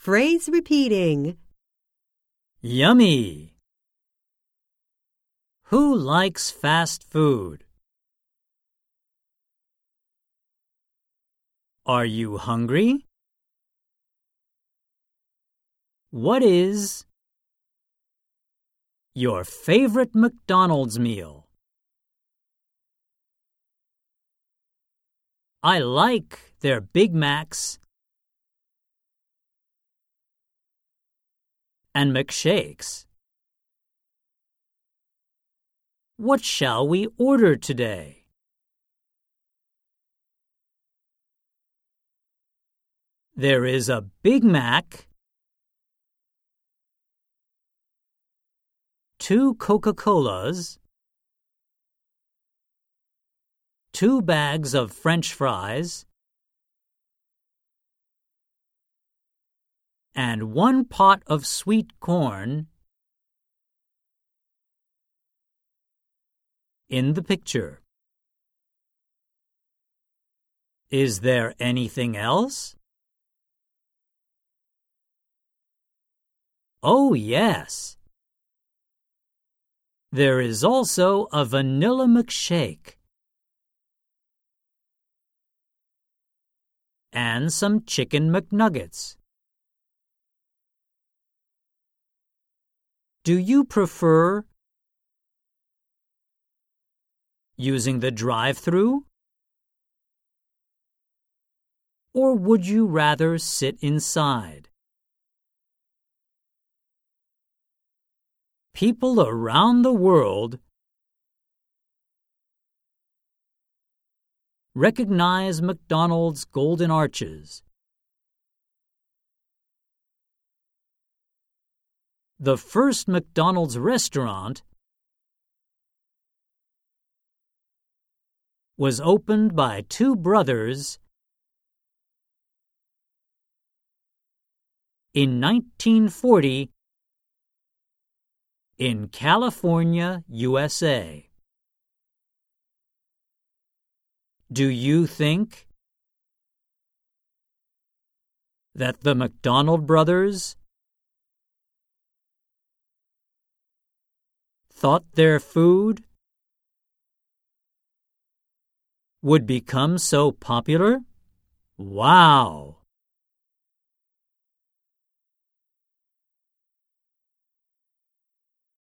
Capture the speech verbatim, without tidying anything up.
Phrase repeating. Yummy. Who likes fast food? Are you hungry? What is your favorite McDonald's meal? I like their Big Macs and McShakes. What shall we order today? There is a Big Mac, two Coca-Colas, two bags of French fries, and one pot of sweet corn in the picture. Is there anything else? Oh, yes. There is also a vanilla milkshake and some chicken McNuggets. Do you prefer using the drive-thru? Or would you rather sit inside? People around the world recognize McDonald's golden arches. The first McDonald's restaurant was opened by two brothers in nineteen forty in California, U S A. Do you think that the McDonald brothers thought their food would become so popular? Wow!